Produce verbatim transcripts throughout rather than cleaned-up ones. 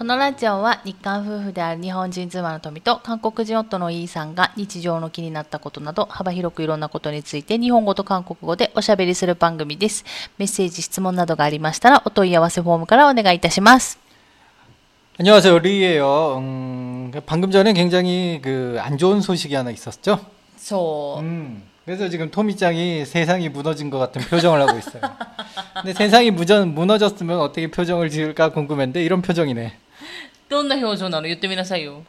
このラジオは日韓夫婦である日本人妻の富と韓国人夫のイーさんが日常の気になったことなど幅広くいろんなことについて日本語と韓国語でおしゃべりする番組です。メッセージ、質問などがありましたらお問い合わせフォームからお願いいたします。 안녕하세요, 리예요. 음, 방금 전에 굉장히 그 안 좋은 소식이 하나 있었죠? そう。 음, 그래서 지금 토미짱이 세상이 무너진 것 같은 표정을 하고 있어요. 근데 세상이 무저, 무너졌으면 어떻게 표정을 지을까 궁금했는데 이런 표정이네. どんな表情なの言ってみなさいよ。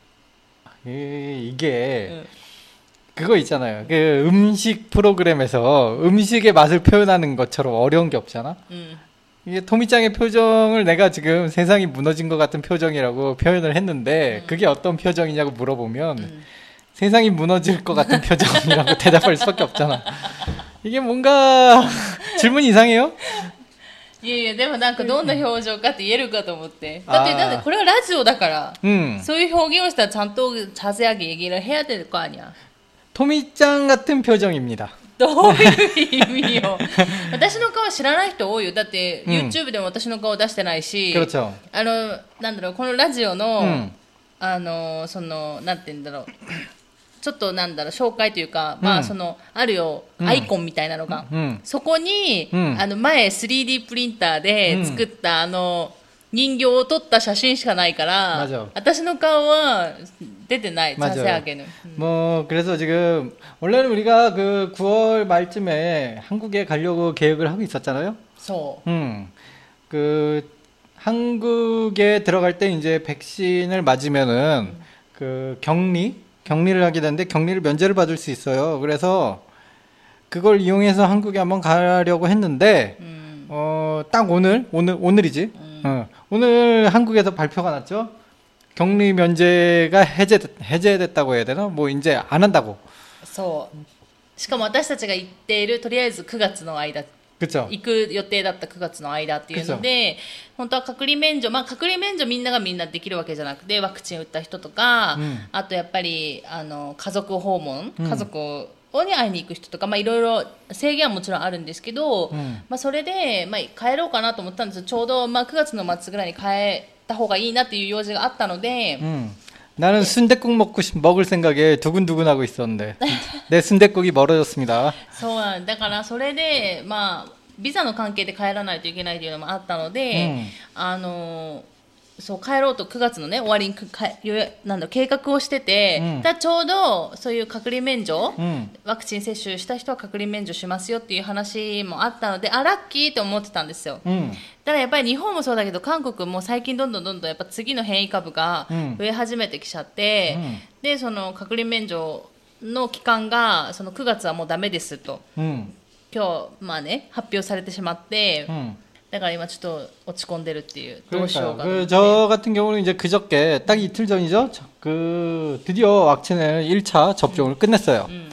이, 이게 응. 그거 있잖아요. 그 음식 프로그램에서 음식의 맛을 표현하는 것처럼 어려운 게 없잖아. 응. 이게 토미짱의 표정을 내가 지금 세상이 무너진 것 같은 표정이라고 표현을 했는데 응. 그게 어떤 표정이냐고 물어보면 응. 세상이 무너질 것 같은 표정이라고 대답할 수밖에 없잖아. 이게 뭔가 질문이 이상해요? いやいやでもなんかどんな表情かって言えるかと思って。だってだってこれはラジオだから、 음. そういう表現をしたらちゃんと자세하게 얘기를 해야 될 거 아니야. 토미짱 같은 표정입니다. どういう意味よ。私の顔知らない人多いよ。だって、 うん、 YouTube でも私の顔出してないし、 그렇죠. あのなんだろうこのラジオの、 うん、 あのそのなんて言うんだろう。ちょっとなんだろう紹介というか、まあそのあるよ、アイコンみたいなのが、そこに、あの前 スリーディー プリンターで作ったあの人形を撮った写真しかないから、私の顔は出てない。 자세하게는. 뭐 그래서 지금 원래는 우리가 그 구월 말쯤에 한국에 가려고 계획을 하고 있었잖아요. 소. 음. 그 한국에 들어갈 때 이제 백신을 맞으면은 그 격리 격리를 하게 되는데 격리를 면제를 받을 수 있어요. 그래서 그걸 이용해서 한국에 한번 가려고 했는데 음. 어, 딱 오늘 오늘 오늘이지. 음. 어, 오늘 한국에서 발표가 났죠. 격리 면제가 해제 해제됐다고 해야 되나? 뭐 이제 안 한다고. そう。しかも私たちが行っているとりあえずくがつの間。 그쵸. 行く予定だったくがつの間っていうので、本当は隔離免除、まあ隔離免除みんながみんなできるわけじゃなくて、ワクチン打った人とか、うん、あとやっぱりあの家族訪問、うん、家族に会いに行く人とか、まあいろいろ制限はもちろんあるんですけど、うん、まあそれでまあ帰ろうかなと思ったんですよ。ちょうどまあくがつの末ぐらいに帰った方がいいなっていう用事があったので。 음. 나는 순댓국 먹고 싶, 먹을 생각에 두근두근하고 있었는데 내 순댓국이 멀어졌습니다. そうなんだからそれでまあビザの関係で帰らないといけないというのもあったので、うん、あのそう帰ろうとくがつのね終わりにかなんだ計画をしてて、うん、だちょうどそういう隔離免除、うん、ワクチン接種した人は隔離免除しますよっていう話もあったので、あラッキーと思ってたんですよ。うん、ただやっぱり日本もそうだけど韓国も最近どんどんどんどんやっぱ次の変異株が増え始めてきちゃって、うん、でその隔離免除の期間がそのくがつはもうダメですと、うん、今日まあね発表されてしまって、うん、だから今ちょっと落ち込んでるっていうどうしようかと思って。 저 같은 경우는 이제 그저께 딱 이틀 전이죠. 그 드디어 왁신을 일 차 접종을 음. 끝냈어요. 음.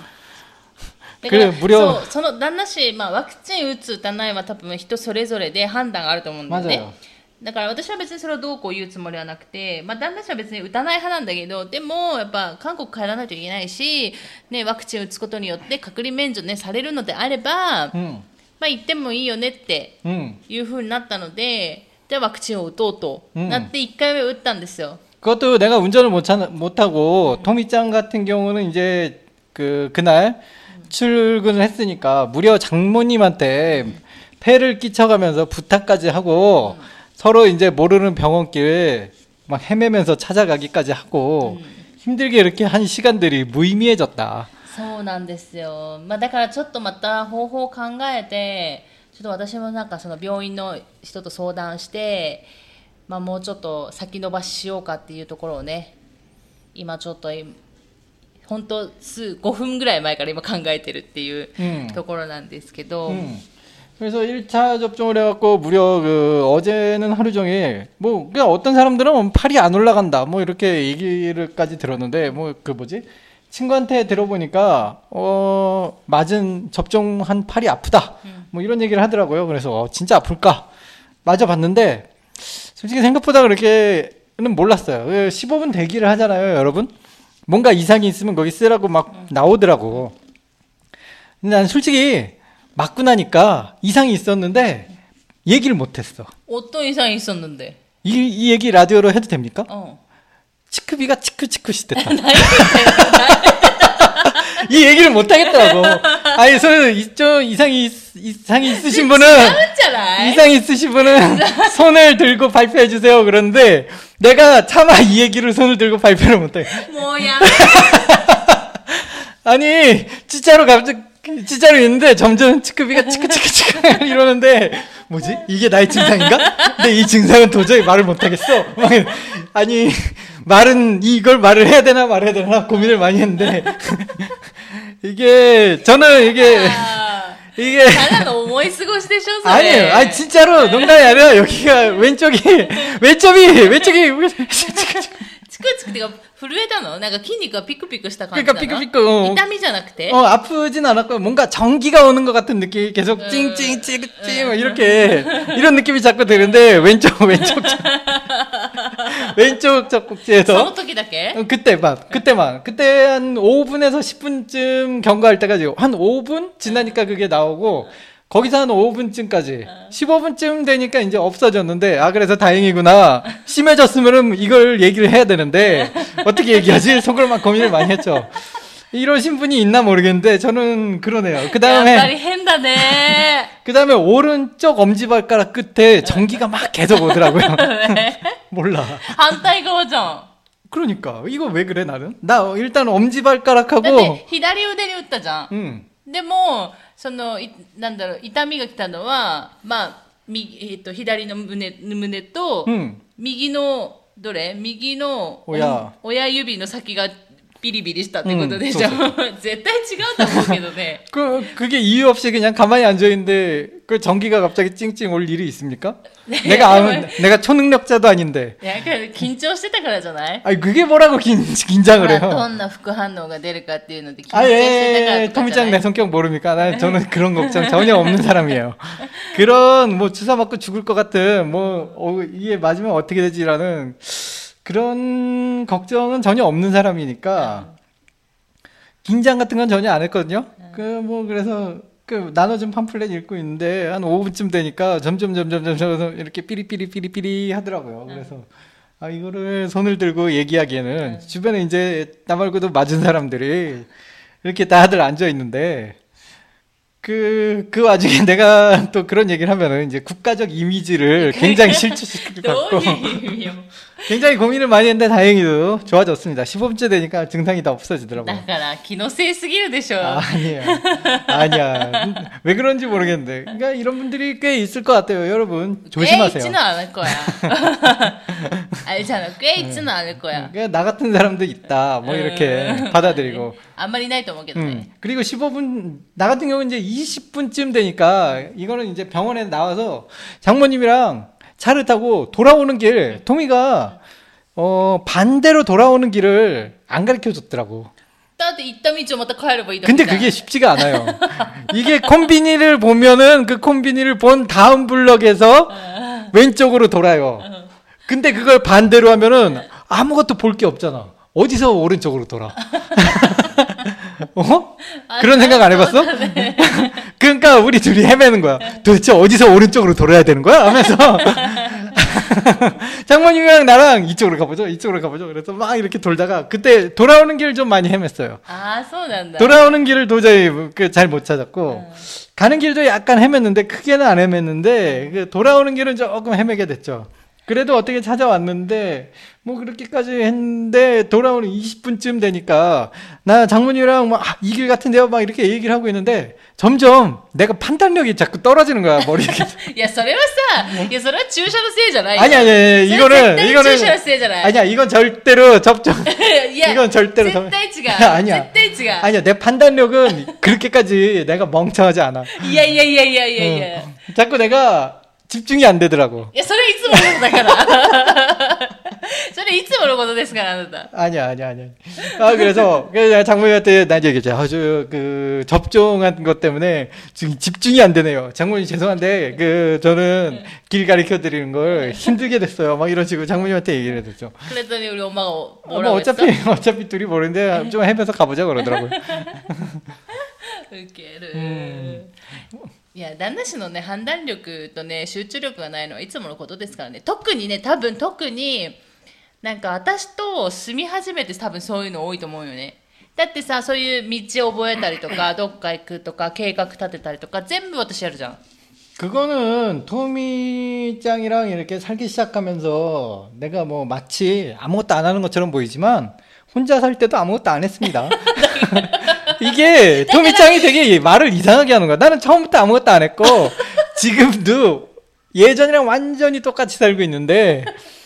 그래 무려 そうその旦那氏まあワクチン打つ打たないは多分人それぞれで判断があると思うんだよね。だから私は別にそれをどうこう言うつもりはなくて、まあ、旦那氏は別に打たない派なんだけど、でもやっぱ韓国帰らないといけないし、ね、ワクチン打つことによって隔離免除、ね、されるのであれば、うん、まあ、行ってもいいよねっていう風になったので、じゃあワクチンを打とうとなっていっかいめ打ったんですよ。 그것도 내가 운전을 못, 못 하고 음. 토미짱 같은 경우는 이제 그 그날 음. 출근을 했으니까 무려 장모님한테 음. 폐를 끼쳐가면서 부탁까지 하고 음. 서로 이제 모르는 병원길 막 헤매면서 찾아가기까지 하고 음. 힘들게 이렇게 한 시간들이 무의미해졌다. そうなんですよ。まあだからちょっとまた方法を考えて、ちょっと私もなんかその病院の人と相談して、まあもうちょっと先延ばししようかっていうところをね、今ちょっと本当数ごふんぐらい前から今考えてるっていう、うん、ところなんですけど。うん、 그래서 일 차 접종을 해갖고 무려 그 어제는 하루 종일 뭐 그냥 어떤 사람들은 팔이 안 올라간다 뭐 이렇게 얘기를까지 들었는데 뭐 그 뭐지 친구한테 들어보니까 어 맞은 접종한 팔이 아프다 뭐 이런 얘기를 하더라고요. 그래서 어, 진짜 아플까 맞아봤는데 솔직히 생각보다 그렇게는 몰랐어요. 십오 분 대기를 하잖아요, 여러분. 뭔가 이상이 있으면 거기 쓰라고 막 나오더라고. 근데 난 솔직히 맞고 나니까 이상이 있었는데 얘기를 못했어. 어떤 이상이 있었는데? 이, 이 얘기 라디오로 해도 됩니까? 어. 치크비가 치크치크시 됐다. 이 얘기를 못 하겠더라고. 아니, 손, 좀 이상이, 이상이 있으신 분은, 이상이 있으신 분은 손을 들고 발표해주세요. 그런데 내가 차마 이 얘기를 손을 들고 발표를 못해. 뭐야? 아니, 진짜로 갑자기, 진짜로 있는데 점점 치크비가 치크치크치크 이러는데, 뭐지? 이게 나의 증상인가? 근데 이 증상은 도저히 말을 못하겠어. 아니, 말은, 이걸 말을 해야 되나 말해야 되나 고민을 많이 했는데, 이게, 저는 이게, 이게. 아니에요. 아니, 진짜로 농담이 아니라 여기가 왼쪽이, 왼쪽이, 왼쪽이, チクチクってか、震えたのなんか筋肉がピクピクした感じ 그러니까 なの 삐끗삐끗. 어. 痛みじゃなくて 어, 아프진 않았고, 뭔가 전기가 오는 것 같은 느낌이 계속 찡찡찡찡 이렇게, 이런 느낌이 자꾸 드는데, 왼쪽, 왼쪽, 왼쪽 젖꼭지에서. その時だけ 어, 그때만, 그때만. 그때 한 오 분에서 십 분쯤 경과할 때까지, 한 오 분 지나니까 그게 나오고, 거기서 한 오 분쯤까지, 십오 분쯤 되니까 이제 없어졌는데, 아, 그래서 다행이구나. 심해졌으면은 이걸 얘기를 해야 되는데, 어떻게 얘기하지? 속으로 막 고민을 많이 했죠. 이러신 분이 있나 모르겠는데, 저는 그러네요. 그 다음에, 그 다음에 오른쪽 엄지발가락 끝에 전기가 막 계속 오더라고요. 몰라. 反対側じゃん 그러니까, 이거 왜 그래, 나는? 나 일단 엄지발가락하고, だって左腕に打ったじゃん 응. でもそのいなんだろう痛みが来たのはまあ右、えっと、左の胸胸と、 うん、 右のどれ右の親, 親指の先がビリビリしたってことでしょ、うん、絶対違うと思うけどね 그, 그게 이유 없이 그냥 가만히 앉아있는데 그 전기가 갑자기 찡찡 올 일이 있습니까? 내가 아무, 내가 초능력자도 아닌데. 약간 긴張してたからじゃない? 아니 그게 뭐라고 긴, 긴장을 해요? どんな副反応が出るかっていうので 아, 예, 토미짱 내 성격 모릅니까? 난, 저는 그런 걱정 전혀 없는 사람이에요. 그런 뭐 주사 맞고 죽을 것 같은 뭐 어, 이게 맞으면 어떻게 되지라는 그런 걱정은 전혀 없는 사람이니까 긴장 같은 건 전혀 안 했거든요. 그 뭐 그래서 그 나눠준 팜플렛 읽고 있는데 한 오 분쯤 되니까 점점 점점 점점 이렇게 삐리삐리 삐리삐리 하더라고요. 그래서 아 이거를 손을 들고 얘기하기에는 주변에 이제 나 말고도 맞은 사람들이 이렇게 다들 앉아 있는데 그, 그 와중에 내가 또 그런 얘기를 하면은 이제 국가적 이미지를 굉장히 실추시킬 것 같고. 굉장히 고민을 많이 했는데 다행히도 좋아졌습니다. 십오 분째 되니까 증상이 다 없어지더라고요. だから気のせいすぎるでしょ. 아니야. 아니야. 왜 그런지 모르겠는데. 그러니까 이런 분들이 꽤 있을 것 같아요. 여러분 조심하세요. 꽤 있지는 않을 거야. 알잖아. 꽤 있지는 않을 거야. 그러니까 나 같은 사람도 있다. 뭐 이렇게 받아들이고. あんまりないと思うけどね. 음, 그리고 십오 분, 나 같은 경우는 이제 이십 분쯤 되니까 이거는 이제 병원에 나와서 장모님이랑 차를 타고 돌아오는 길, 토미가, 어, 반대로 돌아오는 길을 안 가르쳐 줬더라고. 근데 그게 쉽지가 않아요. 이게 콤비니를 보면은 그 콤비니를 본 다음 블럭에서 왼쪽으로 돌아요. 근데 그걸 반대로 하면은 아무것도 볼 게 없잖아. 어디서 오른쪽으로 돌아? 어? 그런 생각 안 해봤어? 그러니까 우리 둘이 헤매는 거야. 도대체 어디서 오른쪽으로 돌아야 되는 거야? 하면서 장모님이랑 나랑 이쪽으로 가보죠, 이쪽으로 가보죠. 그래서 막 이렇게 돌다가 그때 돌아오는 길을 좀 많이 헤맸어요. 아, 소난다. 돌아오는 길을 도저히 잘 못 찾았고 음. 가는 길도 약간 헤맸는데 크게는 안 헤맸는데 그 돌아오는 길은 조금 헤매게 됐죠. 그래도 어떻게 찾아왔는데 뭐 그렇게까지 했는데 돌아오는 이십 분쯤 되니까 나 장모님이랑 막 이 길 같은데요 막 이렇게 얘기를 하고 있는데 점점 내가 판단력이 자꾸 떨어지는 거야 머리에. 야, それはさ, 야, それは注射のせいじゃないよ. 아니 아니 아니 이거는 이거는 注射のせいじゃない. 아니야 이건 절대로 접종. 야, 이건 절대로 絶対違う. 아니야. 絶対違う. 아니야 내 판단력은 그렇게까지 내가 멍청하지 않아. いやいやいやいやいやいや. 응. 자꾸 내가 집중이 안 되더라고. 야, それはいつものことだから. それいつものことですからあなた. 아니야, 아니야, 아니야. 아, 그래서, 그래서 장모님한테 난 얘기했죠. 아, 저, 그, 접종한 것 때문에 지금 집중이 안 되네요. 장모님 죄송한데, 그, 저는 길 가르쳐 드리는 걸 힘들게 됐어요. 막 이런 식으로 장모님한테 얘기를 해줬죠. 그랬더니 우리 엄마가 뭐라고 뭐 어차피, 했어? 어차피 둘이 모르는데 좀 헤매서 가보자 그러더라고요. 웃기를. 음. いや、旦那氏のね、判断力とね、集中力がないのはいつものことですからね。特にね、多分特に、なんか私と住み始めて多分そういうの多いと思うよね。だってさ、そういう道を覚えたりとか、どっか行くとか、計画立てたりとか、全部私やるじゃん。 그거는 토미짱이랑 이렇게 살기 시작하면서 내가 뭐 마치 아무것도 안 하는 것처럼 보이지만 혼자 살 때도 아무것도 안 했습니다. 이게 토미짱이 되게 말을 이상하게 하는 거야. 나는 처음부터 아무것도 안 했고 지금도 예전이랑 완전히 똑같이 살고 있는데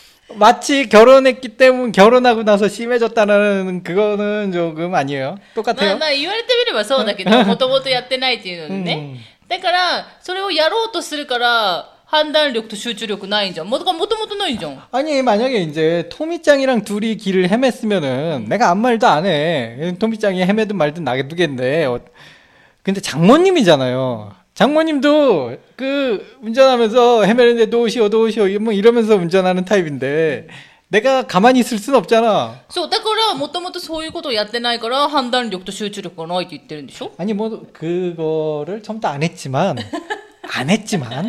마치 결혼했기 때문에 결혼하고 나서 심해졌다는 그거는 조금 아니에요. まあ 똑같아요. まあ言われてみればそうだけど、もともとやってないっていうのでね。だから、それをやろうとするから、判断力と集中力ないんじゃん。もともとないじゃん。 아니 만약에 이제 토미짱이랑 둘이 길을 헤맸으면은 내가 아무 말도 안 해. 토미짱이 헤매든 말든 놔두겠는데 어, 근데 장모님이잖아요. 장모님도 그 운전하면서 헤매는데 도우시오 도우시오 뭐 이러면서 운전하는 타입인데 내가 가만히 있을 순 없잖아. そう、だから、もともとそういうことをやってないから、判断力と集中力がないって言ってるんでしょ? 아니 뭐 그거를 처음부터 안 했지만 안 했지만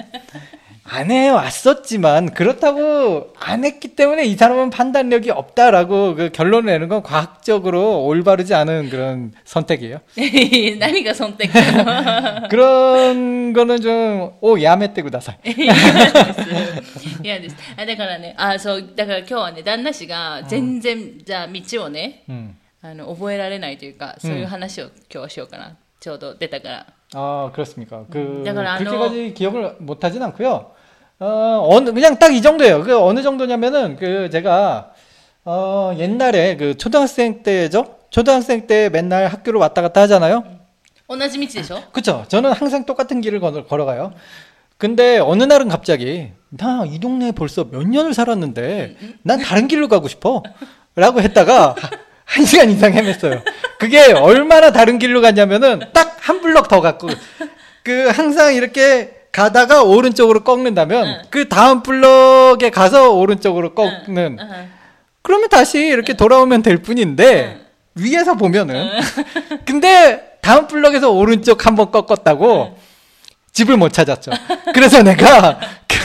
안 해왔었지만 그렇다고 안 했기 때문에 이 사람은 판단력이 없다라고 그 결론을 내는 건 과학적으로 올바르지 않은 그런 선택이에요. 何がそんてっか 그런 거는 좀 오 야메떼 구다사이. 嫌です。あ、だからね、あ、そう、だから今日はね、旦那氏が全然、じゃあ道をね、 음. あの、覚えられないというか、そういう話を今日はしようかな。ちょうど出たから。 아 그렇습니까? 그 약간 그렇게까지 기억을 못하진 않고요. 어 어느 그냥 딱 이 정도예요. 그 어느 정도냐면은 그 제가 어 옛날에 그 초등학생 때죠. 초등학생 때 맨날 학교를 왔다 갔다 하잖아요. 同じ道でしょ? 그렇죠. 저는 항상 똑같은 길을 걸어, 걸어가요. 근데 어느 날은 갑자기 나 이 동네에 벌써 몇 년을 살았는데 난 다른 길로 가고 싶어 라고 했다가 한 시간 이상 헤맸어요. 그게 얼마나 다른 길로 갔냐면은 딱 한 블럭 더 갔고 그 항상 이렇게 가다가 오른쪽으로 꺾는다면 응. 그 다음 블럭에 가서 오른쪽으로 꺾는 응. 응. 그러면 다시 이렇게 돌아오면 될 뿐인데 응. 위에서 보면은 응. 근데 다음 블럭에서 오른쪽 한번 꺾었다고 응. 집을 못 찾았죠. 그래서 내가 그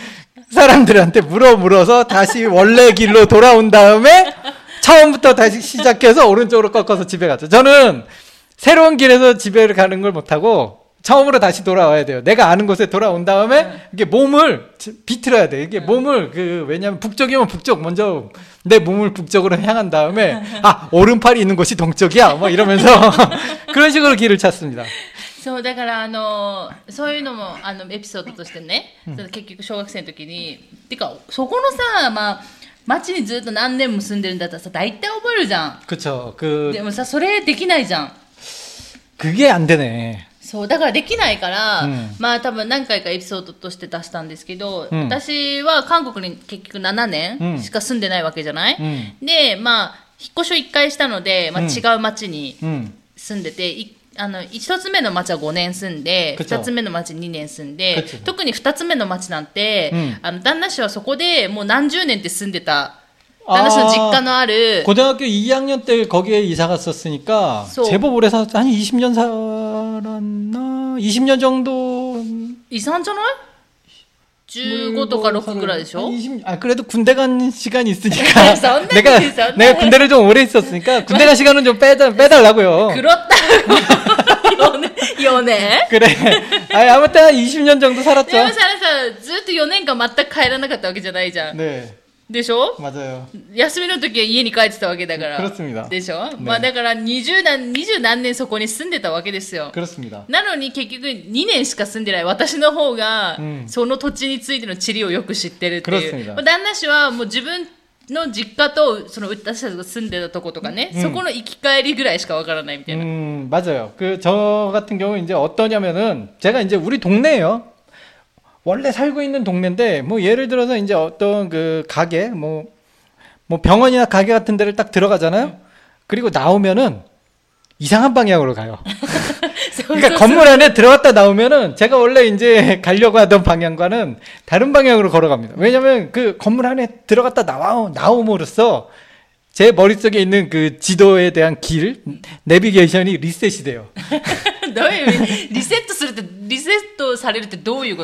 사람들한테 물어 물어서 다시 원래 길로 돌아온 다음에 처음부터 다시 시작해서 오른쪽으로 꺾어서 집에 갔죠. 저는 새로운 길에서 집에 가는 걸 못하고 처음으로 다시 돌아와야 돼요. 내가 아는 곳에 돌아온 다음에 네. 이게 몸을 비틀어야 돼. 이게 네. 몸을 그 왜냐면 북쪽이면 북쪽 먼저 내 몸을 북쪽으로 향한 다음에 아 오른팔이 있는 곳이 동쪽이야. 뭐 이러면서 그런 식으로 길을 찾습니다. そうだからあのそういうのもあのエピソードとしてね、うん、結局小学生の時にてかそこのさまあ町にずっと何年も住んでるんだったらさ大体覚えるじゃん。 그쵸。그 でもさそれできないじゃん。 그게 안 되네. そうだからできないから、うん、まあ多分何回かエピソードとして出したんですけど、うん、私は韓国に結局ななねんしか住んでないわけじゃない、うん、でまあ引っ越しをいっかいしたので、まあ、違う町に住んでて、うん、あの一つ目の町はごねん住んで二つ目の町にねん住んで特に二つ目の町なんて、うん、あの旦那氏はそこでもう何十年って住んでた 旦那氏の実家のある 고등학교 이 학년 때 거기에 이사 갔었으니까 제법 오래 살았 한 이십 년 살았나? 이십 년 정도 イさんじゃない? じゅうごとかろくぐらいでしょ? 이십, 아 그래도 군대 간 시간이 있으니까 내가 내가 군대를 좀 오래 있었으니까 군대 간 시간은 좀 빼다 빼달라고요. 그렇다고. 연애 연애? 그래. 아 아무튼 한 이십 년 정도 살았죠. でもさずっとよねんかん全く帰らなかったわけじゃないじゃん。 네. でしょ? 맞아요. 休みの時は家に帰ってたわけだから。 그렇습니다. でしょ? 네. まあだからにじゅう何、にじゅう何年そこに住んでたわけですよ。 그렇습니다. なのに結局にねんしか住んでない私の方が、うん、その土地についての地理をよく知ってるっていう。 그렇습니다. 旦那氏はもう自分の実家とその私たちが住んでたとことかね、 음. そこの行き帰りぐらいしかわからないみたいな。 음, 맞아요. 그 저 같은 경우 이제 어떠냐면은 제가 이제 우리 동네예요. 원래 살고 있는 동네인데 뭐 예를 들어서 이제 어떤 그 가게 뭐 뭐 병원이나 가게 같은 데를 딱 들어가잖아요. 그리고 나오면은 이상한 방향으로 가요. 그러니까 건물 안에 들어갔다 나오면은 제가 원래 이제 가려고 하던 방향과는 다른 방향으로 걸어갑니다. 왜냐면 그 건물 안에 들어갔다 나와 나옴으로써 제 머릿속에 있는 그 지도에 대한 길, 내비게이션이 리셋이 돼요. どういう意味リセットするって、リセットされるってどういうこと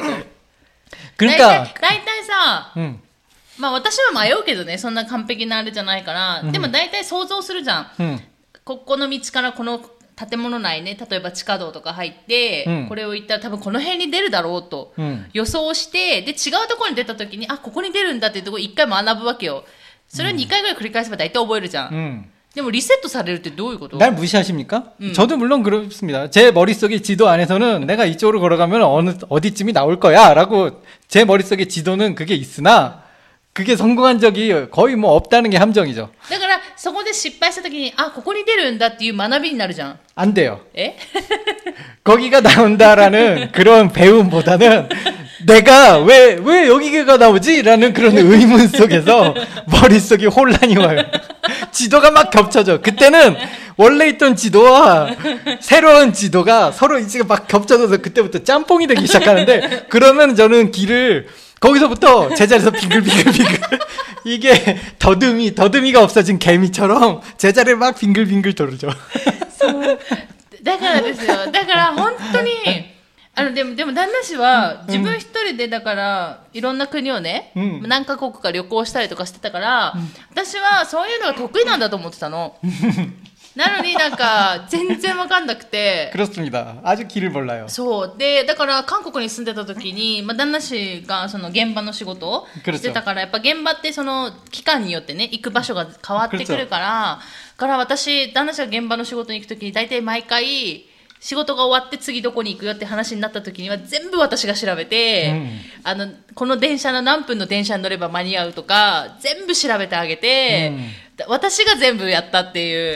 그러니까 だいたいさ、 음. まあ私は迷うけどね、そんな完璧なあれじゃないから、でも大体想像するじゃん。うん、ここの道からこの建物内ね、例えば地下道とか入って、うん、これを行ったら多分この辺に出るだろうと予想して、で違うところに出た時に、あ、ここに出るんだっていうところ一回学ぶわけよ。それをにかいぐらい繰り返せば大体覚えるじゃん。うん、でもリセットされるってどういうこと? 날 무시하십니까? 음. 저도 물론 그렇습니다. 제 머릿속의 지도 안에서는 내가 이쪽으로 걸어가면 어느 어디쯤이 나올 거야라고 제 머릿속의 지도는 그게 있으나 그게 성공한 적이 거의 뭐 없다는 게 함정이죠. だからそこで失敗した時にあ、ここに出るんだっていう学びになるじゃん. 안 돼요. 에? 거기가 나온다라는 그런 배움보다는 내가 왜, 왜 여기가 나오지? 라는 그런 의문 속에서 머릿속이 혼란이 와요. 지도가 막 겹쳐져. 그때는 원래 있던 지도와 새로운 지도가 서로 이제 막 겹쳐져서 그때부터 짬뽕이 되기 시작하는데 그러면 저는 길을 거기서부터 제자리에서 빙글빙글빙글 이게 더듬이 더듬이가 없어진 개미처럼 제자리를 막 빙글빙글 돌죠. だからですよ。だから本当にあのでもでも旦那氏は自分一人でだからいろんな国をね、うん、何カ国か旅行したりとかしてたから、うん、私はそういうのが得意なんだと思ってたの。なのになんか全然わかんなくて。 그렇습니다. 아주 길을 몰라요. そうでだから韓国に住んでた時に、まあ、旦那氏がその現場の仕事をしてたからやっぱ現場ってその期間によってね行く場所が変わってくるから、から私旦那氏が現場の仕事に行く時に大体毎回仕事が終わって次どこに行くよって話になった時には全部私が調べて、うん、あのこの電車の何分の電車に乗れば間に合うとか全部調べてあげて、うん、私が全部やったっていう。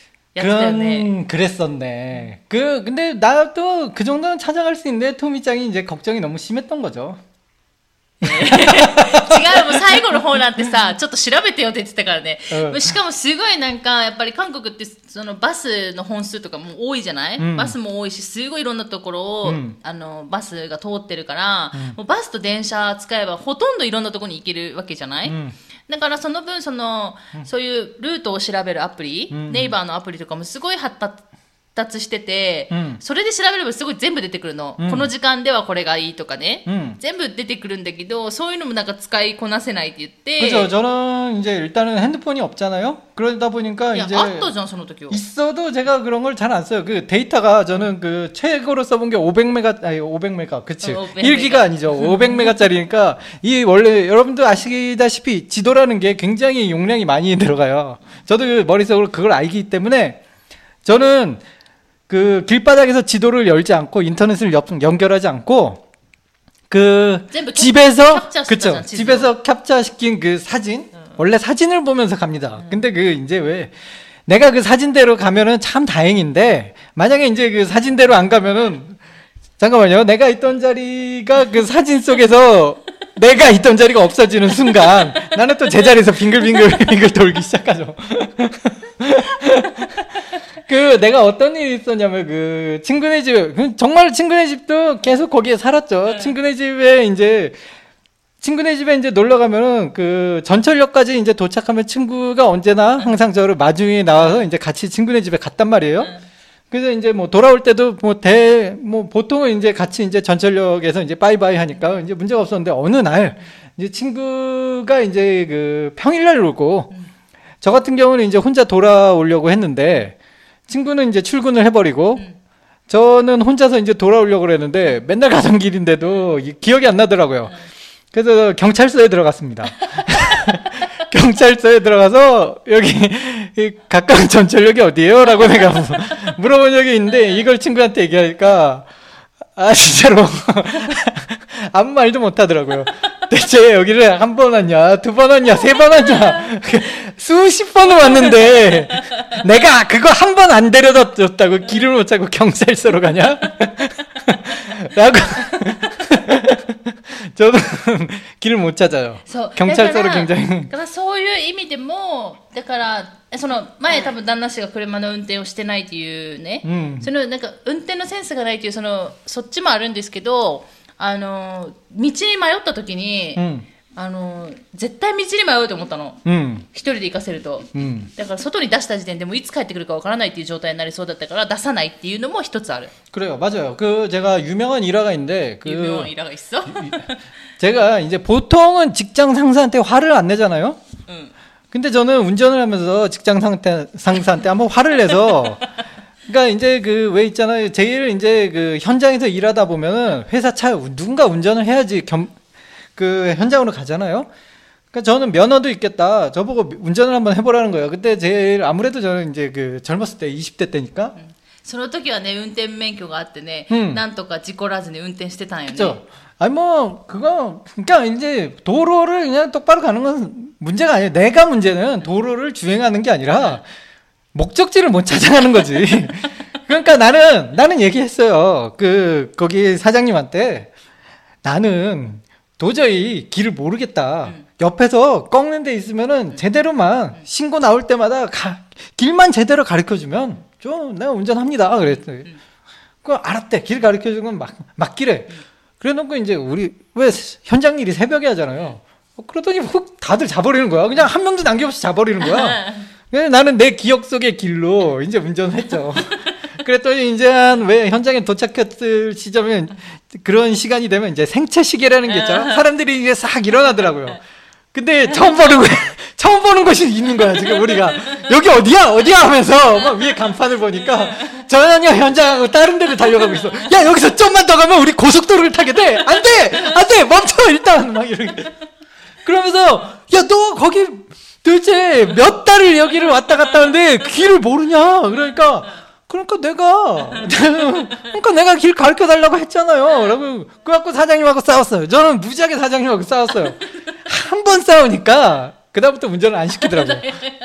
그런 그랬었네. 그 근데 나도 그 정도는 찾아갈 수 있는데 토미짱이 이제 걱정이 너무 심했던 거죠. 違う、もう最後の方なんてさ、ちょっと調べてよって言ってたからね。うん、しかもすごいなんかやっぱり韓国ってそのバスの本数とかも多いじゃない？うん、バスも多いし、すごいいろんなところを、うん、あのバスが通ってるから、うん、もうバスと電車使えばほとんどいろんなところに行けるわけじゃない？うん、だからその分その、うん、そういうルートを調べるアプリ、うん、ネイバーのアプリとかもすごい発達してて、うん、それで調べればすごい全部出てくるの、うん、この時間ではこれがいいとかね、うん、全部出てくるんだけどそういうのもなんか使いこなせないって言って 그죠. 저는 이제 일단은 핸드폰이 없잖아요. 그러다 보니까 야, 이제 아또잖아, 있어도 제가 그런 걸 잘 안 써요. 그 데이터가 저는 그 최고로 써본 게 오백 메가 아니 오백 메가 그치 어, 일 기가 아니죠. 오백 메가짜리니까 이 원래 여러분도 아시다시피 지도라는 게 굉장히 용량이 많이 들어가요. 저도 그 머릿속으로 그걸 알기 때문에 저는 그 길바닥에서 지도를 열지 않고 인터넷을 연결하지 않고 그 집에서 그쵸 집에서 캡처시킨 그 사진 응. 원래 사진을 보면서 갑니다. 응. 근데 그 이제 왜 내가 그 사진대로 가면은 참 다행인데 만약에 이제 그 사진대로 안 가면은 잠깐만요. 내가 있던 자리가 그 사진 속에서 내가 있던 자리가 없어지는 순간 나는 또 제자리에서 빙글빙글 빙글 돌기 시작하죠. 그 내가 어떤 일이 있었냐면 그 친구네 집 정말 친구네 집도 계속 거기에 살았죠. 네. 친구네 집에 이제 친구네 집에 이제 놀러 가면은 그 전철역까지 이제 도착하면 친구가 언제나 항상 저를 마중에 나와서 이제 같이 친구네 집에 갔단 말이에요. 네. 그래서 이제 뭐 돌아올 때도 뭐 대 뭐 보통은 이제 같이 이제 전철역에서 이제 바이바이 하니까 이제 문제가 없었는데 어느 날 이제 친구가 이제 그 평일날 오고 저 같은 경우는 이제 혼자 돌아오려고 했는데 친구는 이제 출근을 해버리고 음. 저는 혼자서 이제 돌아오려고 그랬는데 맨날 가던 길인데도 기억이 안 나더라고요. 음. 그래서 경찰서에 들어갔습니다. 경찰서에 들어가서 여기 가까운 전철역이 어디예요? 라고 내가 물어본 적이 있는데 이걸 친구한테 얘기하니까 아 진짜로 아무 말도 못하더라고요. 대체 여기를 한 번 왔냐, 두 번 왔냐, 세 번 왔냐, 수십 번을 왔는데 내가 그거 한 번 안 데려다 줬다고 길을 못 찾고 경찰서로 가냐? 라고 저는 길을 못 찾아요. 경찰서로 굉장히. 그러니까 そういう意味でもだからその前多分旦那氏が車の運転をしてないっていうね、うん、そのなんか運転のセンスがないっていうそのそっちもあるんですけど。あの道に迷った時に、うん、 あの絶対道に迷うと思ったの、 うん、 一人で行かせると、 うん、 だから外に出した時点でもういつ帰ってくるかわからないっていう状態になりそうだったから出さないっていうのも一つある。 그래요, 맞아요. 그 제가 유명한 일화가 있는데 그 유명한 일화가 있어? 제가 이제 보통은 직장 상사한테 화를 안 내잖아요. 응. 근데 저는 운전을 하면서 직장 상태, 상사한테 한번 화를 내서 그러니까 이제 그 왜 있잖아요. 제일 이제 그 현장에서 일하다 보면은 회사 차 누군가 운전을 해야지 겸 그 현장으로 가잖아요. 그러니까 저는 면허도 있겠다. 저보고 운전을 한번 해보라는 거예요. 그때 제일 아무래도 저는 이제 그 젊었을 때 이십 대 때니까. その時はね運転免許があってね、なんとか事故らずに運転してたんよね。 그렇죠. 아니 뭐 그거 그러니까 이제 도로를 그냥 똑바로 가는 건 문제가 아니에요. 내가 문제는 도로를 주행하는 게 아니라 목적지를 못 찾아가는 거지. 그러니까 나는 나는 얘기했어요. 그 거기 사장님한테 나는 도저히 길을 모르겠다. 음. 옆에서 꺾는 데 있으면은 음. 제대로만 음. 신고 나올 때마다 가, 길만 제대로 가르쳐주면 좀 내가 운전합니다. 그랬더니 음. 그 알았대. 길 가르쳐주면 막 막기래. 음. 그래놓고 이제 우리 왜 현장 일이 새벽에 하잖아요. 어, 그러더니 훅 다들 자버리는 거야. 그냥 한 명도 남김없이 자버리는 거야. 그래서 나는 내 기억 속의 길로 이제 운전을 했죠. 그랬더니 이제 한 왜 현장에 도착했을 시점에 그런 시간이 되면 이제 생체 시계라는 게 있잖아. 사람들이 이제 싹 일어나더라고요. 근데 처음 보는 거 처음 보는 것이 있는 거야 지금 우리가. 여기 어디야 어디야 하면서 막 위에 간판을 보니까 전혀 현장하고 다른 데를 달려가고 있어. 야 여기서 좀만 더 가면 우리 고속도로를 타게 돼. 안 돼 안 돼 멈춰 일단 막 이렇게. 그러면서 야 너 거기 도대체 몇 달을 여기를 왔다 갔다 하는데 길을 모르냐. 그러니까 그러니까 내가 그러니까 내가 길 가르쳐 달라고 했잖아요. 라고 그래갖고 사장님하고 싸웠어요. 저는 무지하게 사장님하고 싸웠어요. 한 번 싸우니까 그다음부터 운전을 안 시키더라고요.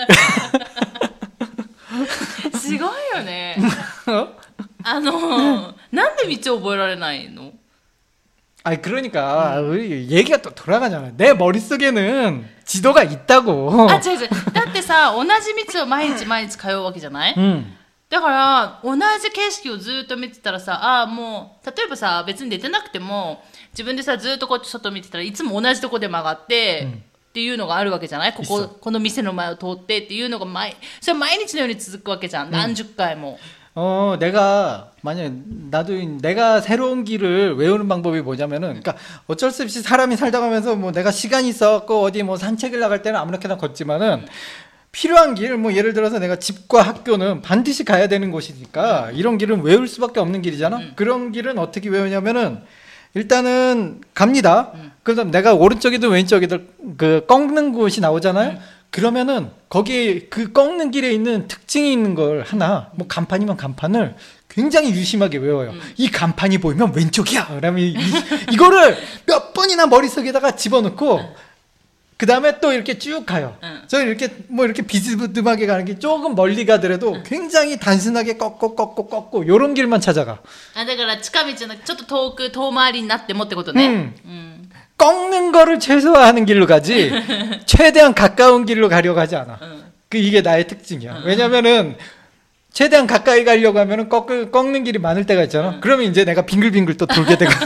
すごいよね。あのなんで道を覚えられないの? 아니 그러니까 음. 우리 얘기가 또 돌아가잖아. 내 머릿속에는 지도가 있다고. 아, 違う違う。だってさ、同じ道を毎日毎日通うわけじゃない? 음. だから同じ景色をずっと見てたらさ、ああもう例えばさ別に出てなくても自分でさずっとこっち外見てたらいつも同じとこで曲がって、うん、っていうのがあるわけじゃない。こここの店の前を通ってっていうのが毎それ毎日のように続くわけじゃん。何十回も。 어, 내가, 만약에, 나도, 내가 새로운 길을 외우는 방법이 뭐냐면은, 그니까, 어쩔 수 없이 사람이 살다 가면서, 뭐, 내가 시간이 있어갖고, 어디 뭐, 산책을 나갈 때는 아무렇게나 걷지만은, 필요한 길, 뭐, 예를 들어서 내가 집과 학교는 반드시 가야 되는 곳이니까, 이런 길은 외울 수밖에 없는 길이잖아? 음. 그런 길은 어떻게 외우냐면은, 일단은, 갑니다. 음. 그다음 내가 오른쪽이든 왼쪽이든, 그, 꺾는 곳이 나오잖아요? 음. 그러면은 거기에 그 꺾는 길에 있는 특징이 있는 걸 하나 뭐 간판이면 간판을 굉장히 유심하게 외워요. 음. 이 간판이 보이면 왼쪽이야. 그러면 이, 이거를 몇 번이나 머릿속에다가 집어넣고 그 다음에 또 이렇게 쭉 가요. 음. 저는 이렇게 뭐 이렇게 비스듬하게 가는 게 조금 멀리 가더라도 음. 굉장히 단순하게 꺾고 꺾고 꺾고 요런 길만 찾아가. 아, 그러니까 近道のちょっと遠く遠回りになってもってことね. 음. 음. 꺾는 거를 최소화하는 길로 가지 최대한 가까운 길로 가려고 하지 않아. 응. 그 이게 나의 특징이야. 응. 왜냐면은 최대한 가까이 가려고 하면은 꺾, 꺾는 길이 많을 때가 있잖아. 응. 그러면 이제 내가 빙글빙글 또 돌게 되고.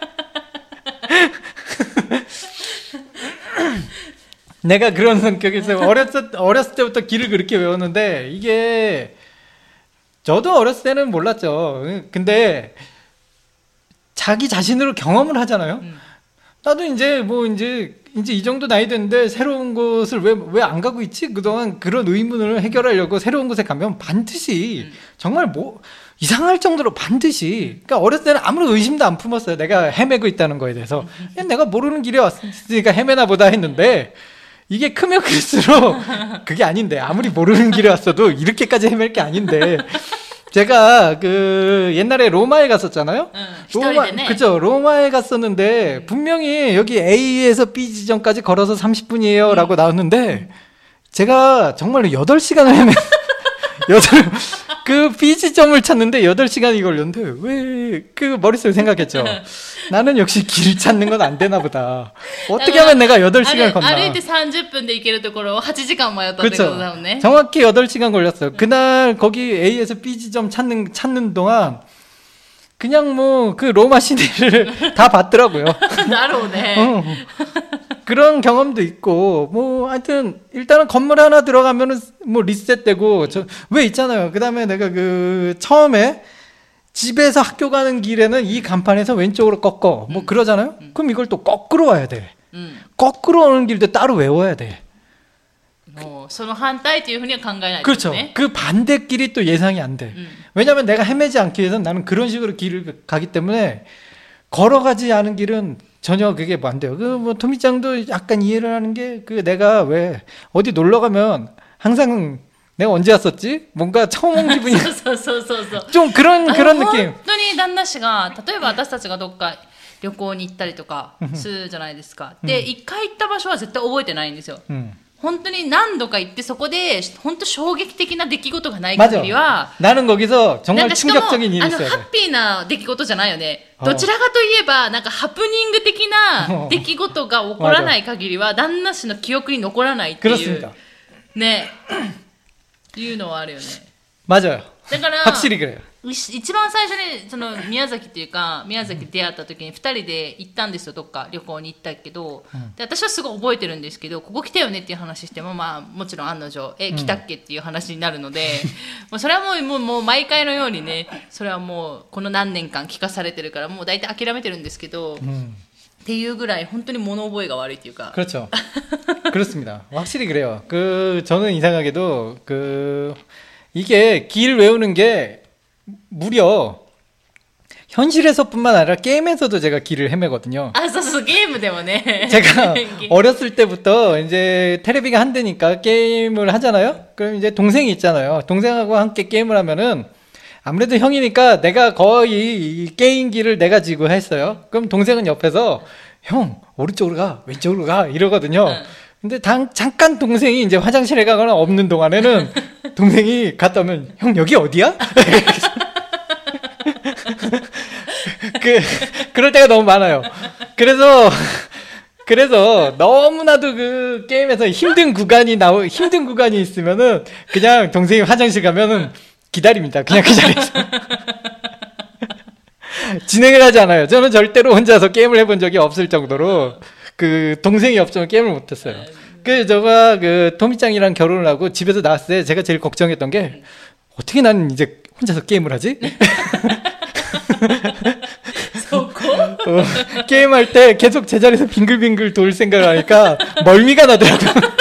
내가 그런 성격에서 어렸을, 어렸을 때부터 길을 그렇게 외웠는데 이게 저도 어렸을 때는 몰랐죠. 근데 자기 자신으로 경험을 하잖아요. 응. 나도 이제 뭐 이제 이제 이 정도 나이 됐는데 새로운 곳을 왜 왜 안 가고 있지? 그동안 그런 의문을 해결하려고 새로운 곳에 가면 반드시 음. 정말 뭐 이상할 정도로 반드시 그러니까 어렸을 때는 아무런 의심도 안 품었어요. 내가 헤매고 있다는 거에 대해서 음. 내가 모르는 길에 왔으니까 헤매나 보다 했는데 이게 크면 클수록 그게 아닌데 아무리 모르는 길에 왔어도 이렇게까지 헤맬 게 아닌데 제가 그 옛날에 로마에 갔었잖아요. 응, 로마 그죠? 로마에 갔었는데 분명히 여기 A에서 B 지점까지 걸어서 삼십 분이에요라고 응. 나왔는데 제가 정말로 여덟 시간을 헤매 여덟 그 B 지점을 찾는데 여덟 시간이 걸렸는데 왜 그 머릿속에 생각했죠. 나는 역시 길 찾는 건 안 되나 보다. 어떻게 하면 내가 여덟 시간을 걷나. 歩いて삼십分で行けるところをはちじかん迷ったってことだもんね. 정확히 여덟 시간 걸렸어요. 그날 거기 A에서 B 지점 찾는 찾는 동안 그냥 뭐 그 로마 시내를 다 봤더라고요. 나로네. 어. 그런 경험도 있고, 뭐, 하여튼, 일단은 건물 하나 들어가면은, 뭐, 리셋되고, 저, 왜 있잖아요. 그 다음에 내가 그, 처음에, 집에서 학교 가는 길에는 이 간판에서 왼쪽으로 꺾어. 뭐, 음. 그러잖아요? 음. 그럼 이걸 또 거꾸로 와야 돼. 음. 거꾸로 오는 길도 따로 외워야 돼. もうその反対というふうには考えないと 그렇죠. ね。 그 반대길이 또 예상이 안 돼. 음. 왜냐면 내가 헤매지 않기 위해서 나는 그런 식으로 길을 가기 때문에, 걸어가지 않은 길은 전혀 그게 뭐 안 돼요. 그 뭐 토미짱도 약간 이해를 하는 게 그 내가 왜 어디 놀러 가면 항상 내가 언제 왔었지? 뭔가 처음 온 기분이 そうそうそうそうそう。 좀 그런 あの 그런 느낌. 本当に旦那氏が例えば私たちがどっか旅行に行ったりとかするじゃないですか。で一回行った場所は絶対覚えてないんですよ。 음. 本当に何度か行ってそこで本当衝撃的な出来事がない限りは 나는 거기서 なん 정말 かしかも 충격적인 일이 あの 있어야 ハ 돼. ッピーな出来事じゃないよね。 あどちらかといえばなんかハプニング的な出来事が起こらない限りは旦那氏の記憶に残らないっていう 그렇습니다. ねっていうのはあるよね。 맞아요. だから 확실히 그래요. い一番最初にその宮崎っていうか宮崎で出会った時にふたりで行ったんですよ。どっか旅行に行ったけど、で私はすごい覚えてるんですけど、ここ来たよねっていう話しても、まあもちろん案の定え来たっけっていう話になるので、もうそれはもうもうもう毎回のようにね、それはもうこの何年間聞かされてるからもう大体諦めてるんですけど、 음. っていうぐらい本当に物覚えが悪いっていうか。 그렇죠. 그렇습니다. 확실히 그래요. 그 저는 이상하게도 그 이게 길 외우는 게 무려 현실에서뿐만 아니라 게임에서도 제가 길을 헤매거든요. あ、そうそうゲームでもね。 제가 어렸을 때부터 이제 테레비가 한 대니까 게임을 하잖아요. 그럼 이제 동생이 있잖아요. 동생하고 함께 게임을 하면은 아무래도 형이니까 내가 거의 이 게임기를 내가 지고 했어요. 그럼 동생은 옆에서 형 오른쪽으로 가 왼쪽으로 가 이러거든요. 응. 근데 당, 잠깐 동생이 이제 화장실에 가거나 없는 동안에는 동생이 갔다 오면 형 여기 어디야? 그 그럴 때가 너무 많아요. 그래서 그래서 너무나도 그 게임에서 힘든 구간이 나오 힘든 구간이 있으면은 그냥 동생이 화장실 가면은 기다립니다. 그냥 그 자리에서 진행을 하지 않아요. 저는 절대로 혼자서 게임을 해본 적이 없을 정도로 그 동생이 없으면 게임을 못했어요. 그 저가 그 토미짱이랑 결혼을 하고 집에서 나왔을 때 제가 제일 걱정했던 게 어떻게 나는 이제 혼자서 게임을 하지? そこ 어, 게임할 때 계속 제자리에서 빙글빙글 돌 생각을 하니까 멀미가 나더라고요.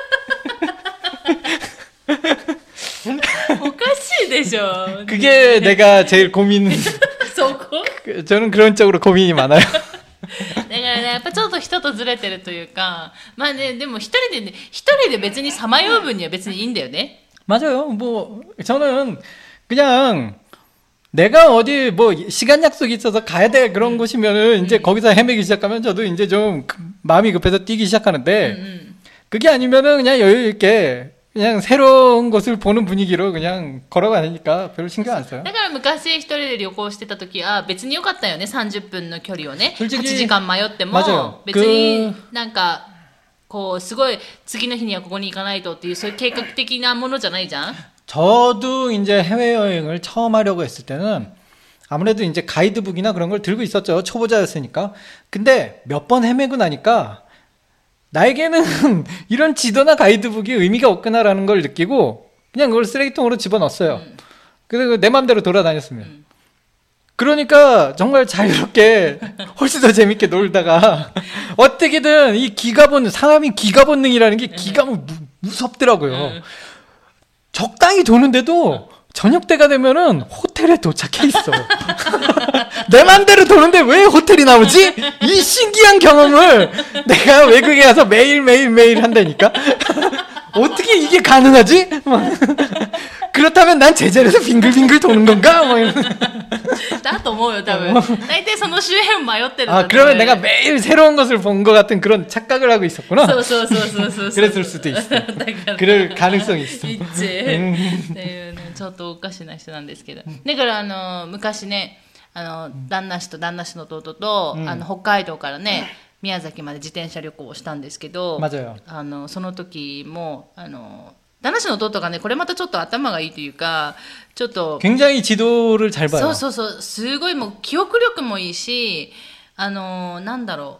おかしいでしょ。 그게 내가 제일 고민. そこ 저는 그런 쪽으로 고민이 많아요. だからね、やっぱちょっと人とずれてるというか、まあね、でも一人でね、一人で別にさまよう分には別にいいんだよね。 맞아요. 뭐 저는 그냥 내가 어디 뭐 시간 약속이 있어서 가야 돼 그런 곳이면은 이제 거기서 헤매기 시작하면 저도 이제 좀 마음이 급해서 뛰기 시작하는데 うんうん。 그게 아니면은 그냥 여유 있게 그냥 새로운 곳을 보는 분위기로 그냥 걸어가니까 별로 신경 안 써요. だから昔一人で旅行してた時は別に良かったよね。さんじゅっぷんの距離をね、 솔직히 はちじかん迷っても 맞아요. 別になんかこうすごい次の日にはここに行かないとっていうそういう計画的なものじゃないじゃん。 저도 이제 해외여행을 처음 하려고 했을 때는 아무래도 이제 가이드북이나 그런 걸 들고 있었죠. 초보자였으니까. 근데 몇 번 헤매고 나니까 나에게는 이런 지도나 가이드북이 의미가 없구나라는 걸 느끼고 그냥 그걸 쓰레기통으로 집어넣었어요. 음. 그래서 내 맘대로 돌아다녔습니다. 그러니까 정말 자유롭게 훨씬 더 재밌게 놀다가 어떻게든 이 기가 본능, 사람이 기가 본능이라는 게 기가 무, 무섭더라고요. 음. 적당히 도는데도 저녁 때가 되면은 호텔에 도착해 있어. 내 맘대로 도는데 왜 호텔이 나오지? 이 신기한 경험을 내가 외국에 가서 매일 매일 매일 한다니까. 어떻게 이게 가능하지? 그렇다면 난 제자리에서 빙글빙글 도는 건가? 막 이런. だと思うよ多分。大体その周辺迷ってるんだ 아 と思うよ。 그러면 내가 매일 새로운 것을 본 것 같은 그런 착각을 하고 있었구나. そうそうそうそうそうそう。 그랬을 수도 있어. だから 그럴 가능성이 있어. 一致っていうね、ちょっとおかしな人なんですけど。だからあの昔ね、あの旦那氏と旦那氏の弟と、あの北海道からね、宮崎まで自転車旅行をしたんですけど、 맞아요. あのその時もあの旦那氏の弟がね、これまたちょっと頭がいいというか、ちょっと 굉장히 지도를 잘 봐요. そうそうそう、すごいもう記憶力もいいし、あのなんだろう、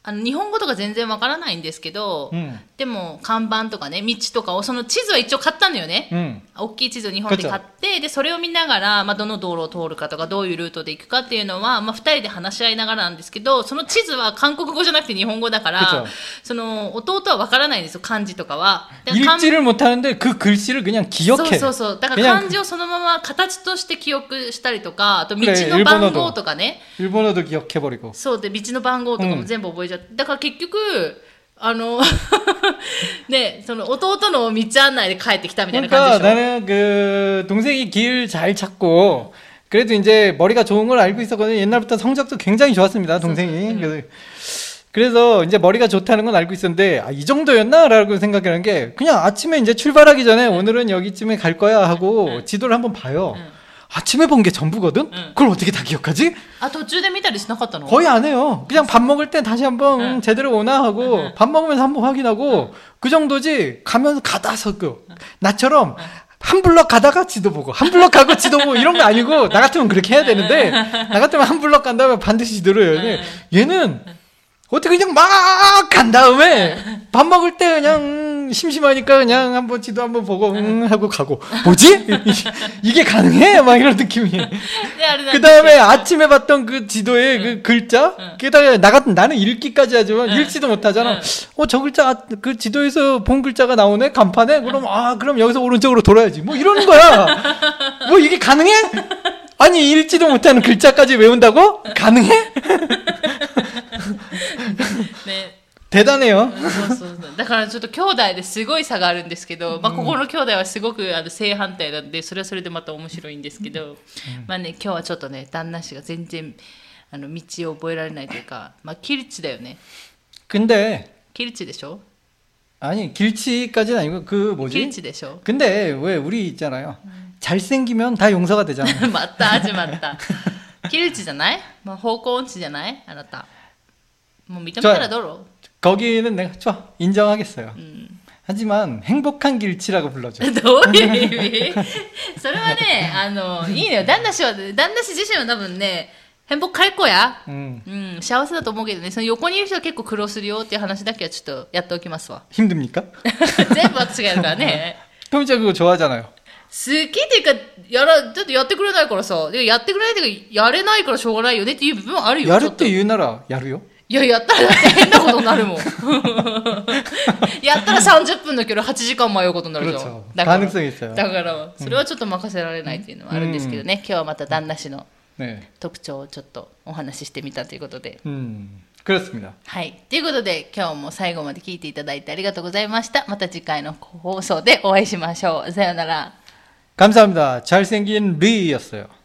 あの日本語とか全然わからないんですけど、うん、でも看板とかね道とかをその地図は一応買ったのよね、うん、大きい地図を日本で買ってでそれを見ながら、まあ、どの道路を通るかとかどういうルートで行くかっていうのは、まあ、ふたりで話し合いながらなんですけどその地図は韓国語じゃなくて日本語だからその弟はわからないんですよ漢字とかは 읽지를 못하는데 그 글씨를 그냥 기억해 そうそうそうだから漢字をそのまま形として記憶したりとかあと道の番号とかね 일본어도 기억해버리고 そうで道の番号とかも全部覚えちゃって、うん、だから結局あのねその弟の道案内で帰ってきたみたいな感じでしょ。 나는 그 동생이 길 잘 찾고 그래도 이제 머리가 좋은 걸 알고 있었거든요. 옛날부터 성적도 굉장히 좋았습니다, 동생이. 음. 그래서, 그래서 이제 머리가 좋다는 건 알고 있었는데 아, 이 정도였나라고 생각하는 게 그냥 아침에 이제 출발하기 전에 오늘은 여기쯤에 갈 거야 하고 응. 지도를 한번 봐요. 응. 아침에 본 게 전부거든? 응. 그걸 어떻게 다 기억하지? 아, 도중에見たりしなかったの? 거의 안 해요. 그냥 밥 먹을 때 다시 한번 응. 제대로 오나 하고 응. 밥 먹으면서 한번 확인하고 응. 그 정도지 가면서 가다서 그 나처럼 한 블럭 가다가 지도 보고 한 블럭 가고 지도 보고 이런 거 아니고 나 같으면 그렇게 해야 되는데 나 같으면 한 블럭 간 다음에 반드시 지도를 해야 돼. 얘는 어떻게 그냥 막 간 다음에 밥 먹을 때 그냥 심심하니까 그냥 한번 지도 한번 보고 응 하고 가고 뭐지? 이게 가능해? 막 이런 느낌이에요. 그 다음에 아침에 봤던 그 지도의 그 글자 게다가 나 같은 나는 읽기까지 하지만 읽지도 못하잖아. 어, 저 글자 그 지도에서 본 글자가 나오네 간판에 그럼 아 그럼 여기서 오른쪽으로 돌아야지 뭐 이러는 거야. 뭐 이게 가능해? 아니 읽지도 못하는 글자까지 외운다고? 가능해? 네. 대단해요. そうそうそうだからちょっと兄弟ですごい差があるんですけど、まあ、ここの兄弟はすごくあの正反対なんでそれはそれでまた面白いんですけど、まあね、今日はちょっとね旦那氏が全然あの道を覚えられないというか、まあ、길치だよね。 근데 길치でしょ? 아니 길치까지는 아니고 그 뭐지? 길치でしょ? 근데 왜 우리 있잖아요. 잘생기면 다 용서가 되잖아. 맞다 하지 맞다. 길치 じゃない? 뭐方向音痴じゃない? あなた. 뭐 믿음따라 너로. 거기는 내가 좋아 인정하겠어요. 음. 하지만 행복한 길치라고 불러줘. どういう意味? それはね、あのいいのよ。旦那氏は旦那氏自身は多分ね、행복할 거야. 음. 음, 幸せだと思うけどね。その横にいる人は結構苦労するよっていう話だけはちょっとやっておきますわ。 힘듭니까? 全部私がやるからね。 トミちゃん그거 좋아하잖아요. 好きっていうかやらちょっとやってくれないからさ、やってくれないっていうかやれないからしょうがないよねっていう部分はあるよ。 やるって言うならやるよ。 いや、やったらだって変なことになるもん。やったらさんじゅっぷんの距離はちじかん迷うことになるじゃん。だから、だからそれはちょっと任せられないっていうのはあるんですけどね、うん、今日はまた旦那氏の特徴をちょっとお話ししてみたということで。 うん、그렇습니다。 はい。ということで、今日も最後まで聞いていただいてありがとうございました。また次回の放送でお会いしましょう。さようなら。 감사합니다。잘생긴 리였어요。